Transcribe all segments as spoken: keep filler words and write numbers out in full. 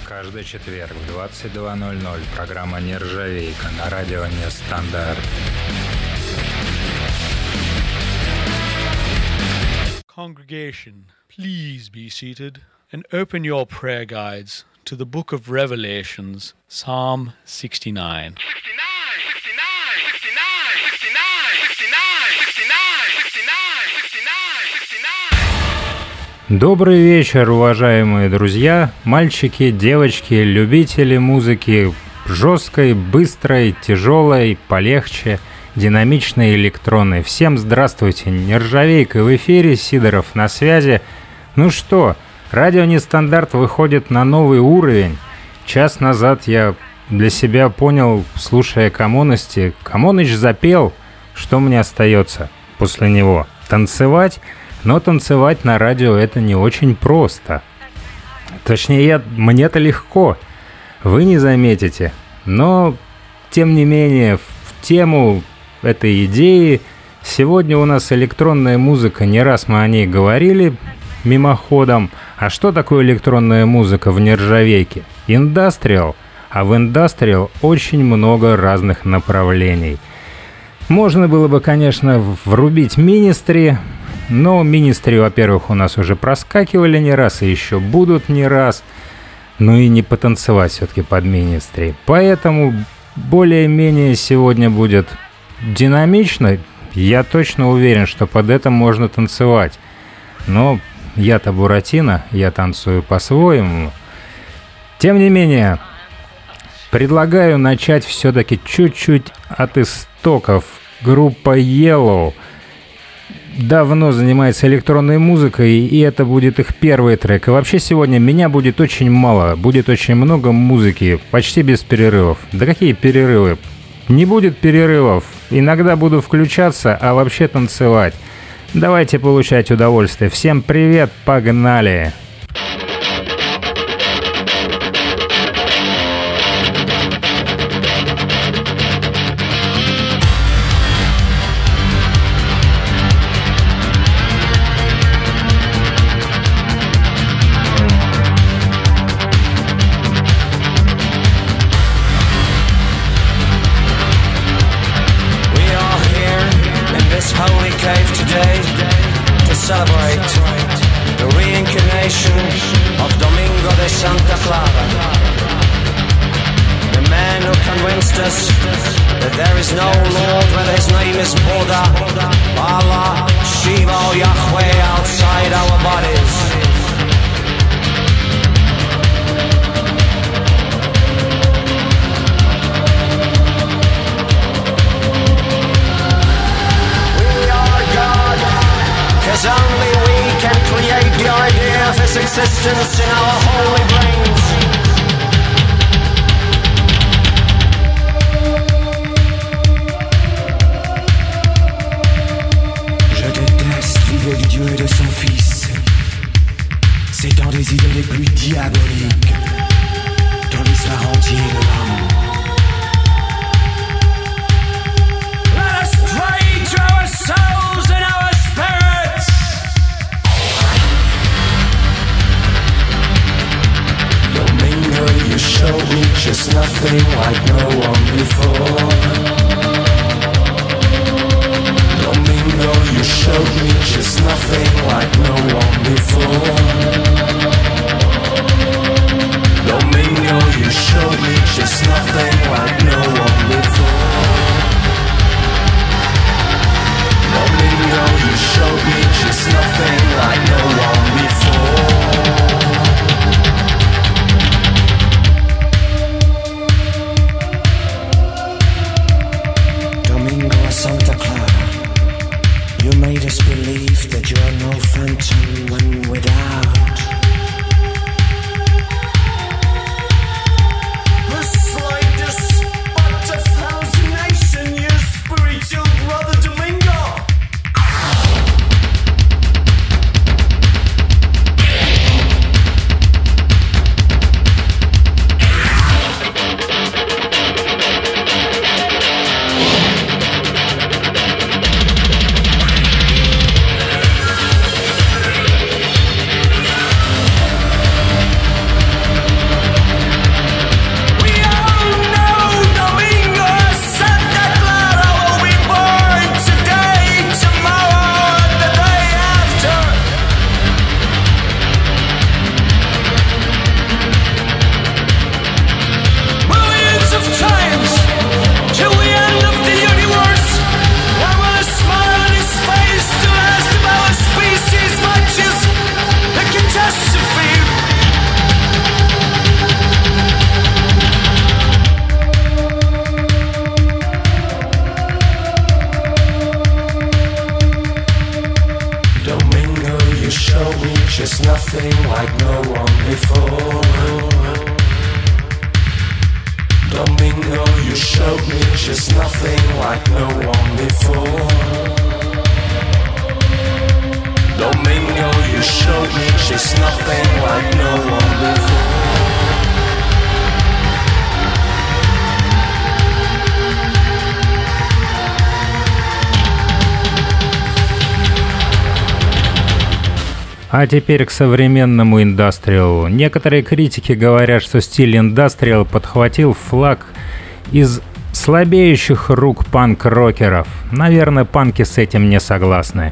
Каждый четверг в двадцать два ноль ноль программа «Нержавейка» на радио Нестандарт. Congregation, please be seated and open your prayer guides to the book of Revelations, Psalm sixty-nine. Добрый вечер, уважаемые друзья, мальчики, девочки, любители музыки жесткой, быстрой, тяжелой, полегче, динамичной, электронной. Всем здравствуйте, Нержавейка в эфире, Сидоров на связи. Ну что, радио Нестандарт выходит на новый уровень. Час назад я для себя понял, слушая Коммуности, Коммуныч запел, что мне остается после него? Танцевать? Но танцевать на радио это не очень просто. Точнее, я, мне-то легко, вы не заметите. Но, тем не менее, в тему этой идеи сегодня у нас электронная музыка. Не раз мы о ней говорили мимоходом. А что такое электронная музыка в нержавейке? Индастриал. А в индастриал очень много разных направлений. Можно было бы, конечно, врубить Министри. Но Министри, во-первых, у нас уже проскакивали не раз и еще будут не раз. Ну и не потанцевать все-таки под Министри. Поэтому более-менее сегодня будет динамично. Я точно уверен, что под это можно танцевать. Но я-то Буратино, я танцую по-своему. Тем не менее, предлагаю начать все-таки чуть-чуть от истоков. Группа Yellow давно занимается электронной музыкой, и это будет их первый трек. И вообще сегодня меня будет очень мало, будет очень много музыки, почти без перерывов. Да какие перерывы? Не будет перерывов. Иногда буду включаться, а вообще танцевать. Давайте получать удовольствие. Всем привет, погнали! Existence in our holy brains. Je déteste l'idée du Dieu et de son Fils. C'est dans des idées les plus diaboliques dans l'histoire entière de l'homme. Let us pray to our souls and our spirits. You showed me just nothing like no one before. Domingo, you showed me just nothing like no one before. Domingo, you showed me just nothing like no one before. Domingo, you showed me just nothing like no one before. Santa Clara, you made us believe that you're no phantom when without. like no one before. Domingo, you showed me just nothing like no one before. Domingo, you showed me just nothing like no one before. А теперь к современному индастриалу. Некоторые критики говорят, что стиль индастриал подхватил флаг из слабеющих рук панк-рокеров. Наверное, панки с этим не согласны.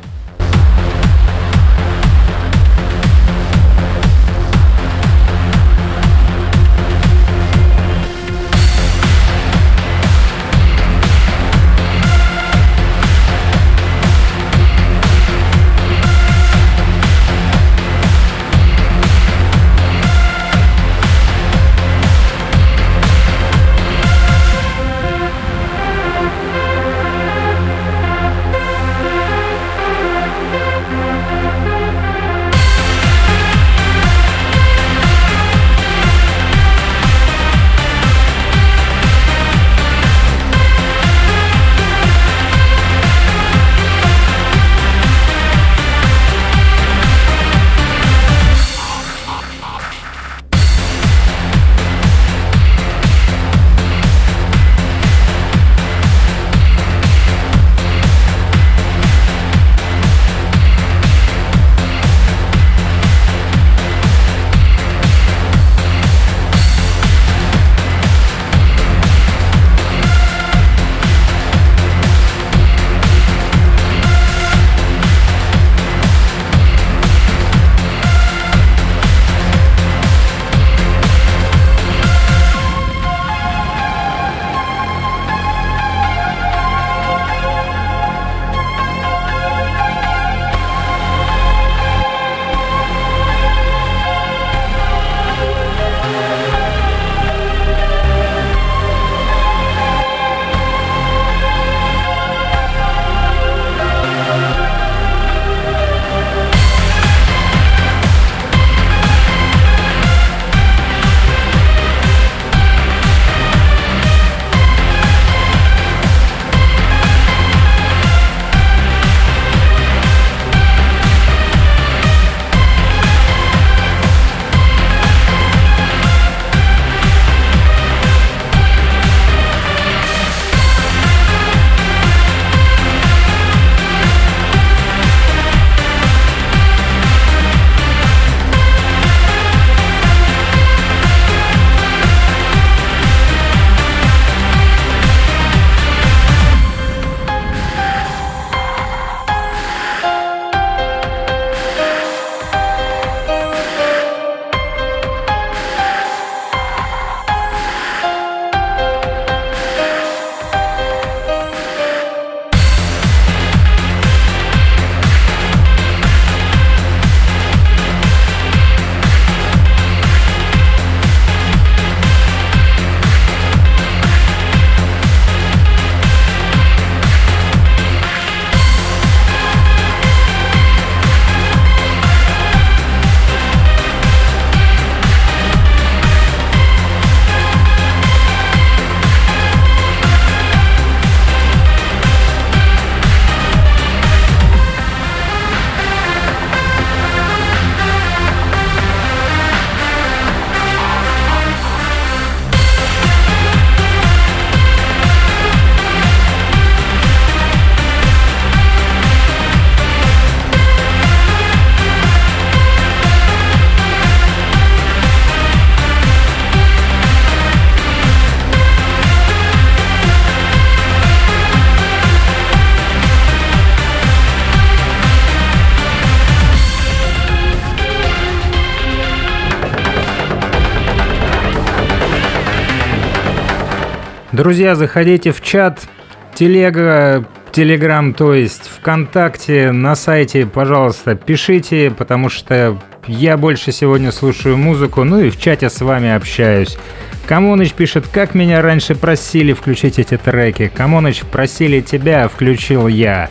Друзья, заходите в чат, телега, телеграм, то есть ВКонтакте, на сайте, пожалуйста, пишите, потому что я больше сегодня слушаю музыку, ну и в чате с вами общаюсь. Камоныч пишет, как меня раньше просили включить эти треки. Камоныч, просили тебя, включил я.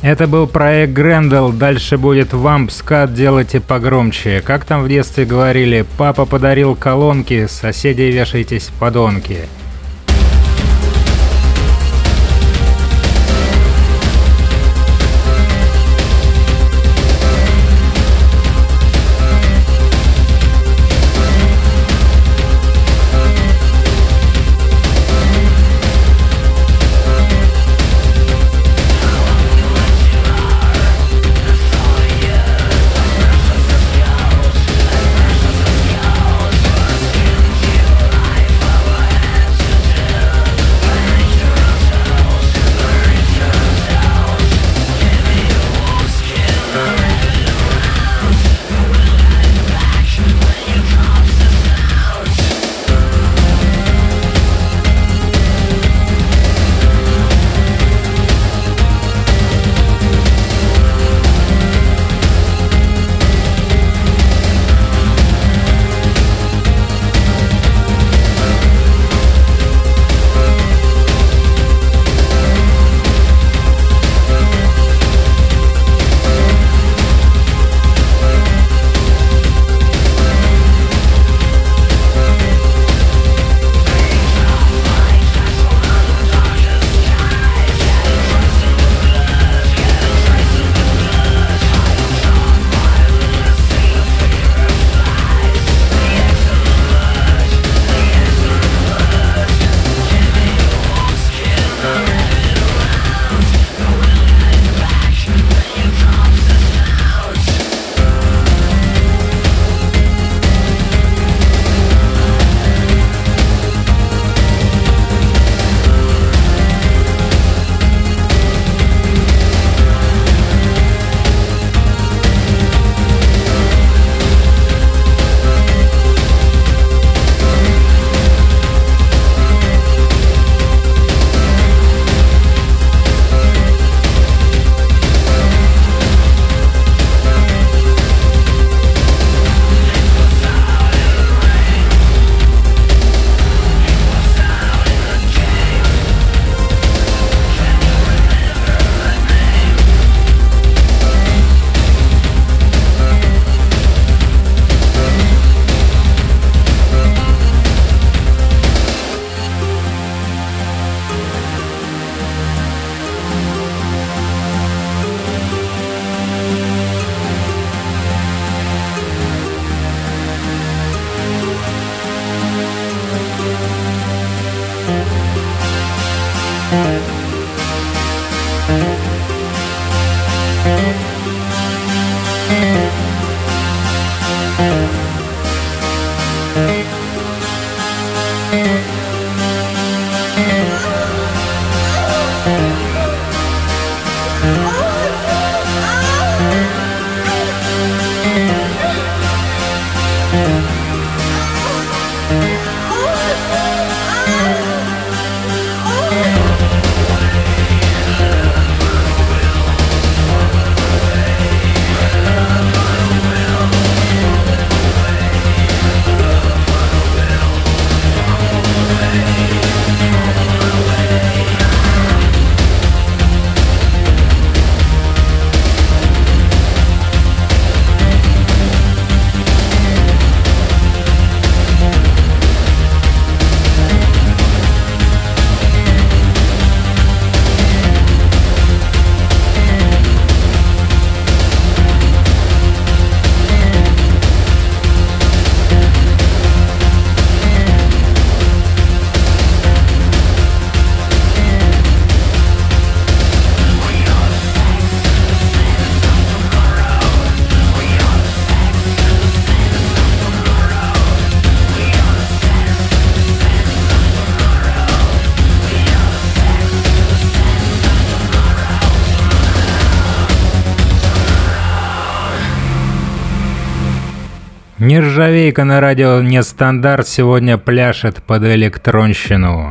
Это был проект Грендел, дальше будет вамп скат, делайте погромче. Как там в детстве говорили, папа подарил колонки, соседи вешайтесь подонки. Нержавейка на радио Нестандарт сегодня пляшет под электронщину.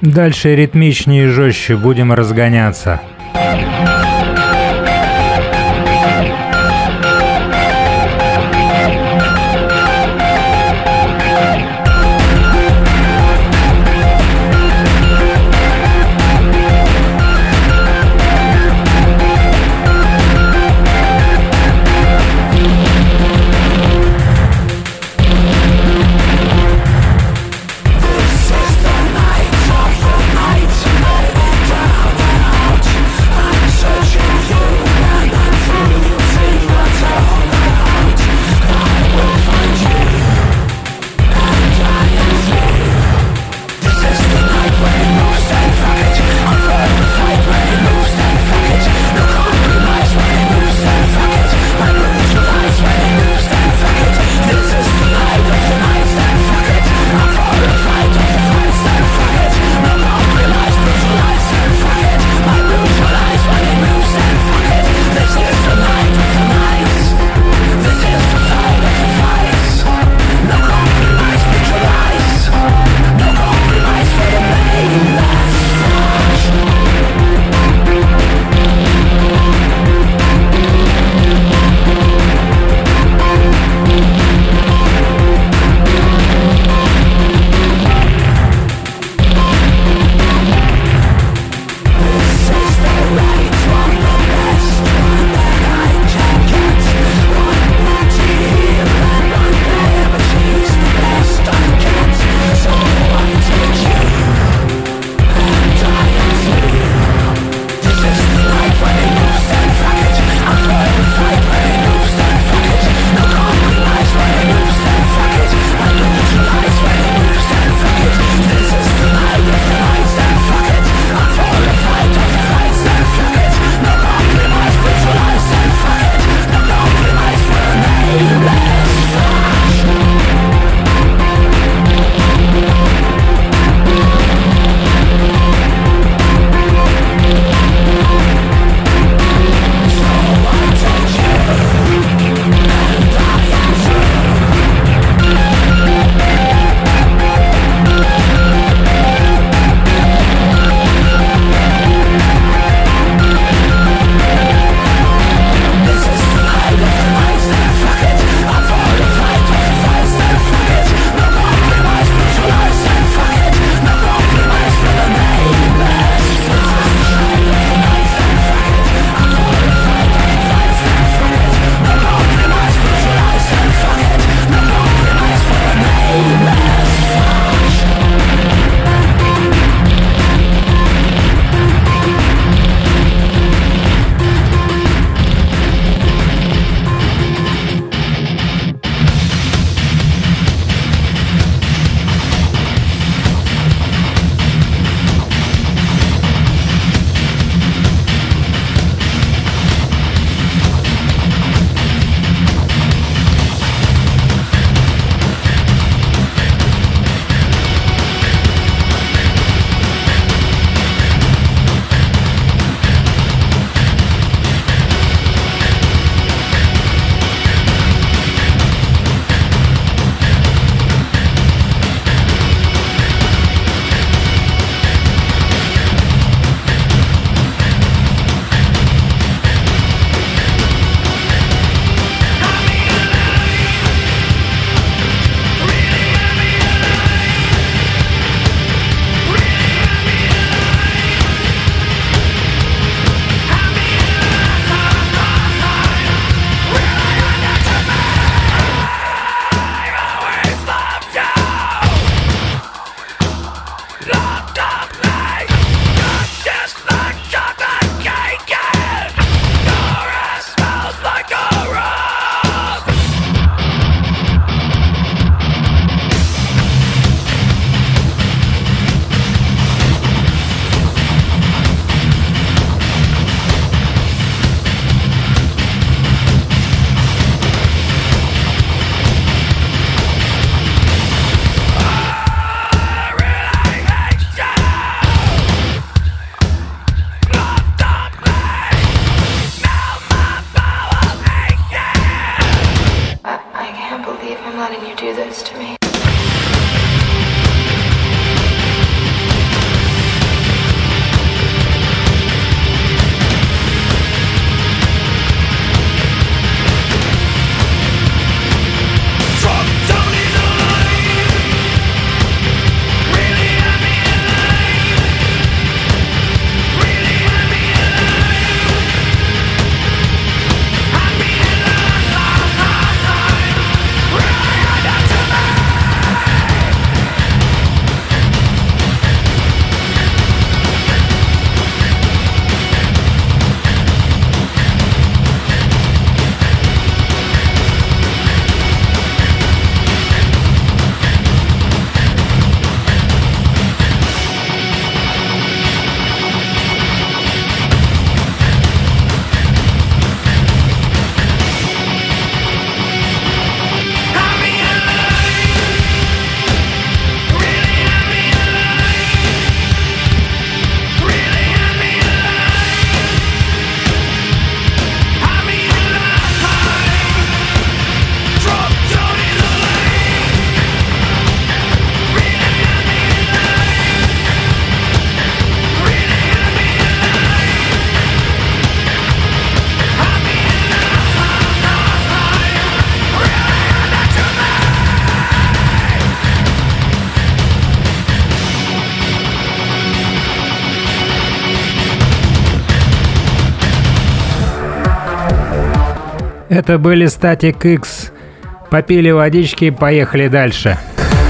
Дальше ритмичнее и жестче, будем разгоняться. do this to me. Это были Static X. Попили водички, поехали дальше.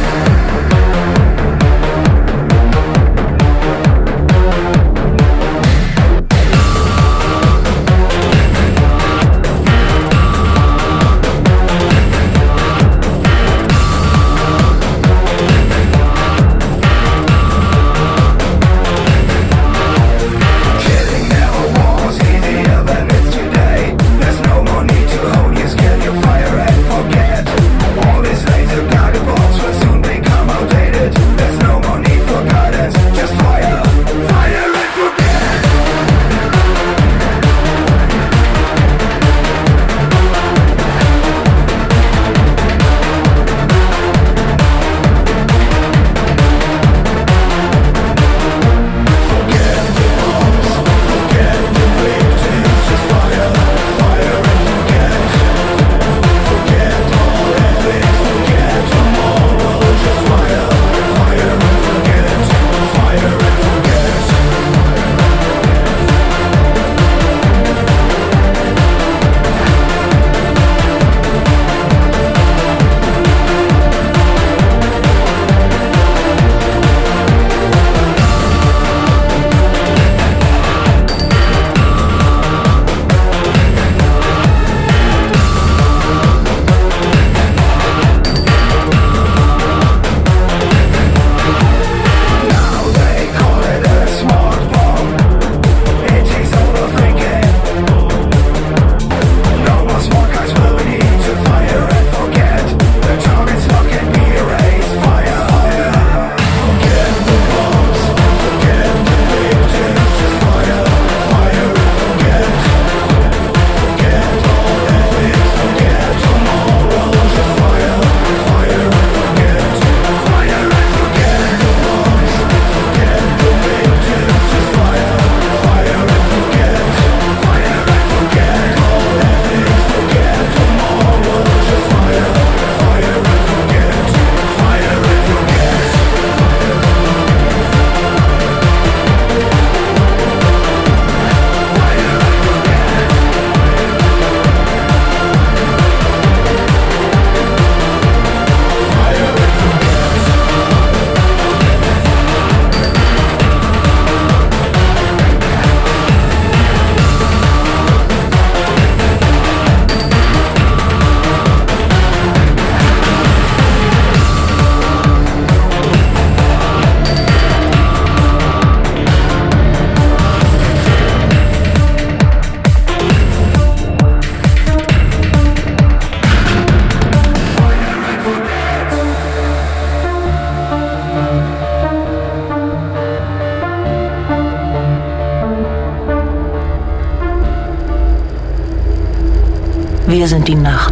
Wir sind die Nacht.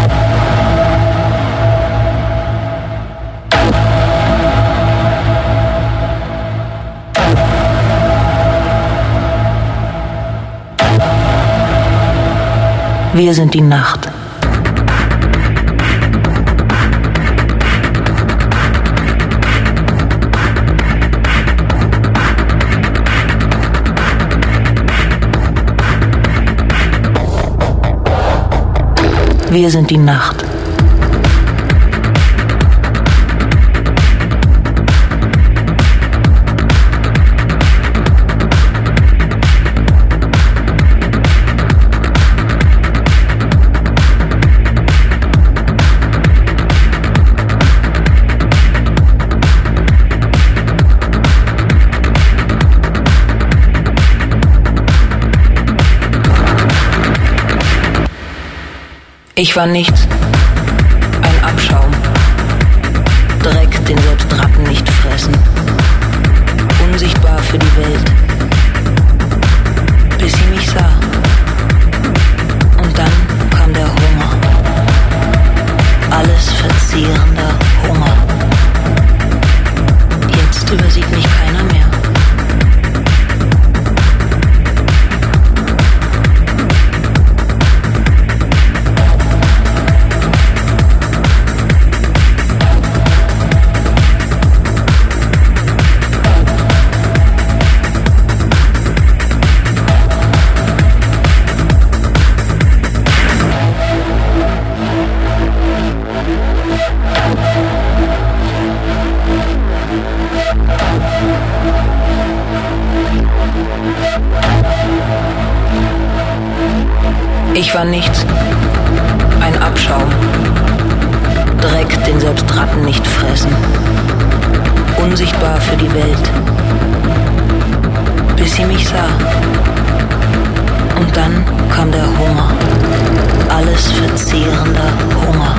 Wir sind die Nacht. Wir sind die Nacht. Ich war nichts, ein Abschaum, Dreck, den selbst Ratten nicht fressen, unsichtbar für die Welt, bis sie mich sah. Und dann kam der Hunger, alles verzehrender Hunger. Jetzt übersieht mich keiner mehr. Ich war nichts, ein Abschaum. Dreck, den selbst Ratten nicht fressen. Unsichtbar für die Welt. Bis sie mich sah. Und dann kam der Hunger. Alles verzehrender Hunger.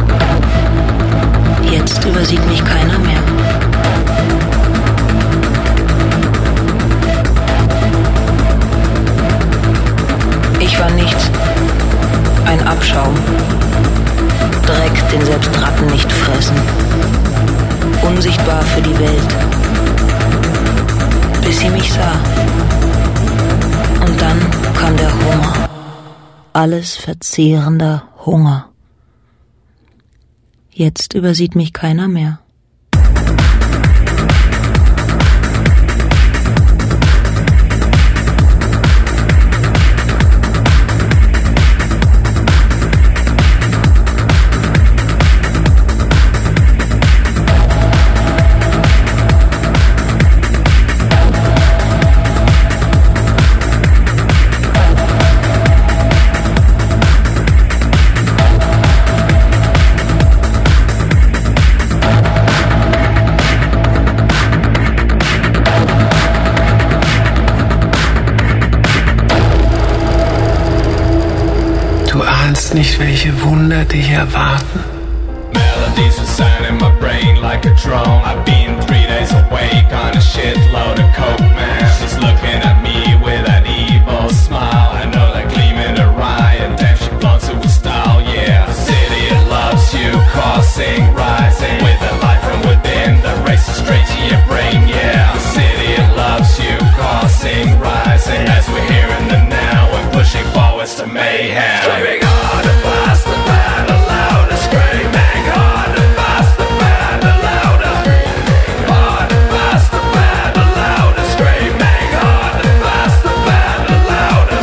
Jetzt übersieht mich keiner mehr. Ich war nichts, ein Abschaum. Dreck, den selbst Ratten nicht fressen. Unsichtbar für die Welt. Bis sie mich sah. Und dann kam der Hunger. Alles verzehrender Hunger. Jetzt übersieht mich keiner mehr. Nicht, welche Wunder dich erwarten. Melodies are sound in my brain like a drone. I've been three days awake on a shitload of coke, man. She's looking at me with that evil smile. I know that gleam in her eye, and damn, she floats it with style, yeah. The city, it loves you, crossing, rising, with the light from within that races straight to your brain, yeah. The city, it loves you, crossing, rising, as we're here in the now and pushing forwards to mayhem. Driving harder, faster, better, louder, screaming harder, faster, better, louder. Harder, faster, better, louder, screaming harder, faster, better, louder.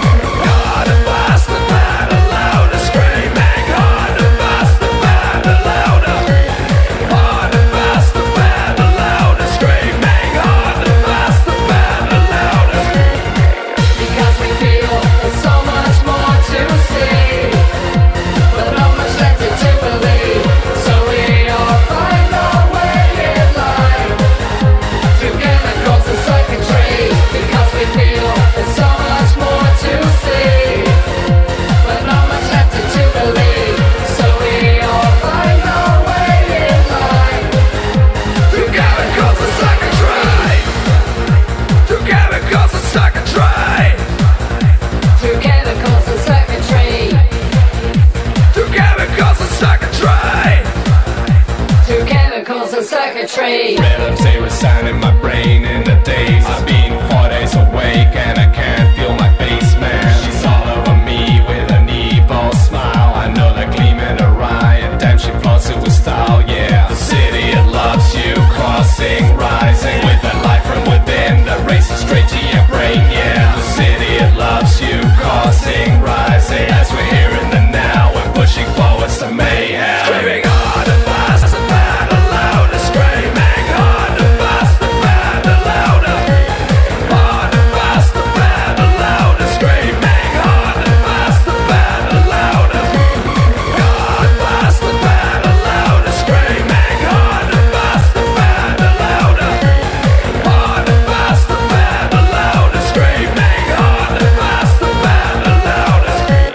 Harder, faster, better, louder, screaming harder, faster, better, louder. Harder, faster, better, louder, screaming harder, faster, better, louder. Because we feel there's so much more to see, but not much left to believe. So we all find our way in life, together across the circuitry. Because we feel there's so much more to see, but not much left to believe. So we all find our way in life, Together across the circuitry. Together across the circuitry. together across the circuitry, Together across the circuitry. together across the circuitry. Rhythms, they were sound in my brain in the days. I've been four days awake and I can't feel my face, man. She's all over me with an evil smile. I know that gleam in her eye, and damn, she floats it with style, yeah. The city, it loves you, crossing, rising, with the light from within that races straight to your brain, yeah. The city, it loves you, crossing, rising, as we're here in the now and pushing forwards to mayhem. Screaming harder, faster, better, louder, screaming harder, faster, better, louder. Harder, faster, better, louder, screaming harder, faster, better, louder. Harder, faster, better, louder, screaming harder, faster, better, louder. Harder, faster, better, louder, screaming harder, faster, better, louder.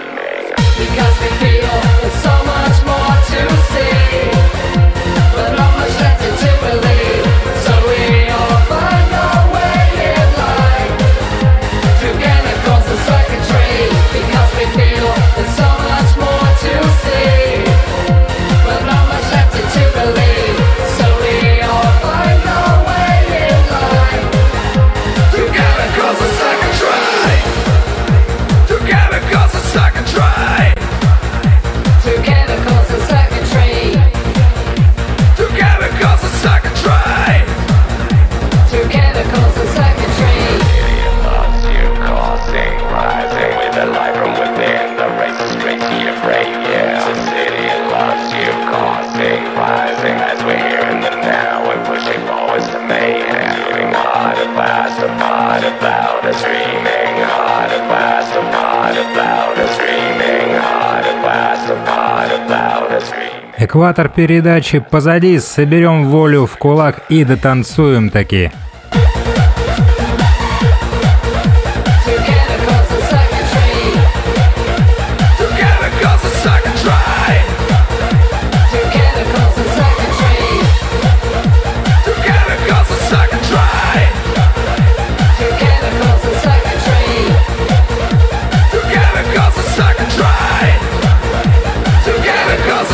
Because we feel there's so much more to see, but not much left to believe. So we all find our way in life, together across the circuitry. Because we feel there's so much more to see, but not much left to believe. So we all find our way in life, Together across the circuitry. Together across the circuitry. together across the circuitry, Together across the circuitry. together across the circuitry. It loves you, causing, rising, with the light from within that races straight to your brain, yeah. The city, it loves you, causing, rising, as we're here in the now and pushing forward. voice to mayhem. Hard and fast, hard and loud, screaming. Hard and fast, hard and loud, screaming. Hard and fast, hard and loud, screaming. Экватор передачи позади, соберем волю в кулак и дотанцуем таки.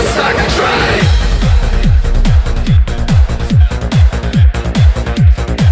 Try.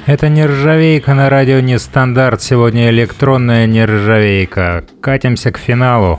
Это нержавейка на радио Нестандарт. Сегодня электронная нержавейка. Катимся к финалу.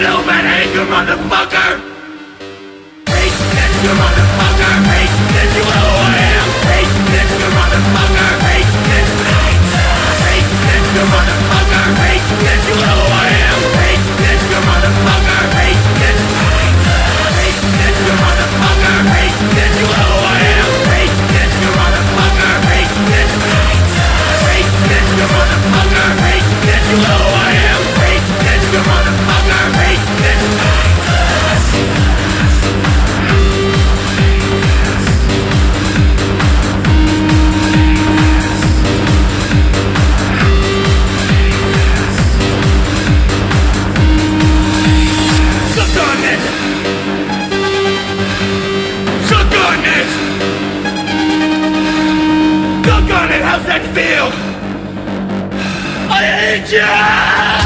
stupid, hate you motherfucker. Hate that you motherfucker. Hate that you know who I am. Hate that you motherfucker. Hate that. Hate that you motherfucker. Hate that you know who I am. Hate that you motherfucker. Hate that. Hate that you motherfucker. Hate that you know who I am. Hate that you motherfucker. Hate that. Hate that you motherfucker. Hate that you know who I am. Hate that you motherfucker. Hate that. Suck on it! Suck on it! Suck on it! How's that feel? I hate you!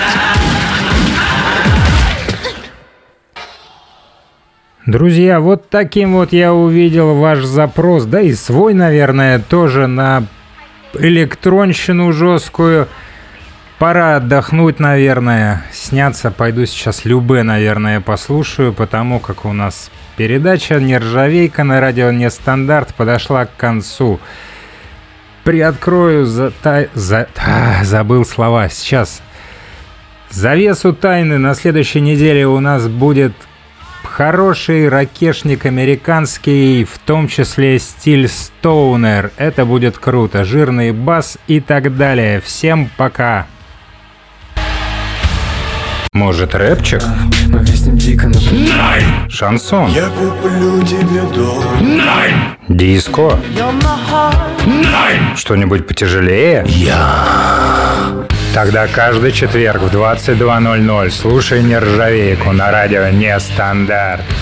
Друзья, вот таким вот я увидел ваш запрос, да и свой, наверное, тоже на электронщину жесткую. Пора отдохнуть, наверное, сняться. Пойду сейчас Любэ, наверное, послушаю, потому как у нас передача «Нержавейка» на радио «Нестандарт» подошла к концу. Приоткрою за... за... А, забыл слова. Сейчас. Завесу тайны. На следующей неделе у нас будет хороший ракешник американский, в том числе стиль стоунер. Это будет круто. Жирный бас и так далее. Всем пока. Может, рэпчик? Мы виснем дико на Найн! Шансон? Я куплю тебе дом. Найн! Диско? Найн! Что-нибудь потяжелее? Я. Тогда каждый четверг в двадцать два ноль ноль слушай «Нержавейку» на радио «Нестандарт».